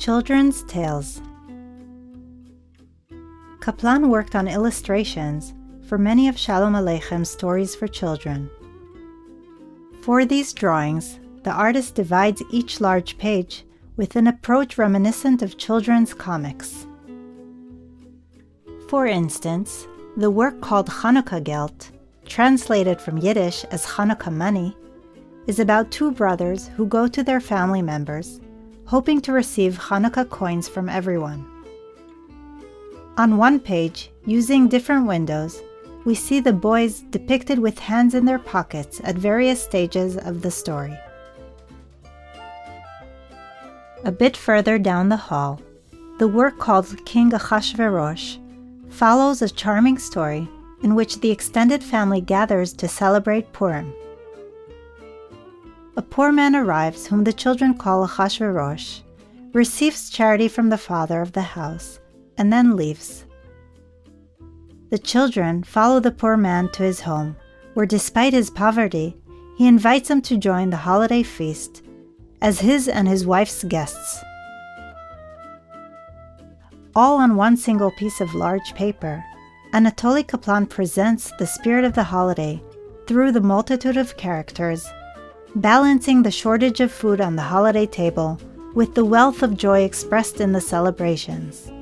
Children's Tales. Kaplan worked on illustrations for many of Shalom Aleicham's stories for children. For these drawings, the artist divides each large page with an approach reminiscent of children's comics. For instance, the work called Chanukah Geld, translated from Yiddish as Chanukah money, is about two brothers who go to their family members, hoping to receive Chanukah coins from everyone. On one page, using different windows, we see the boys depicted with hands in their pockets at various stages of the story. A bit further down the hall, the work called King Achashverosh follows a charming story in which the extended family gathers to celebrate Purim. A poor man arrives whom the children call Achashverosh, receives charity from the father of the house, and then leaves. The children follow the poor man to his home, where despite his poverty, he invites them to join the holiday feast as his and his wife's guests. All on one single piece of large paper, Anatoly Kaplan presents the spirit of the holiday through the multitude of characters, balancing the shortage of food on the holiday table with the wealth of joy expressed in the celebrations.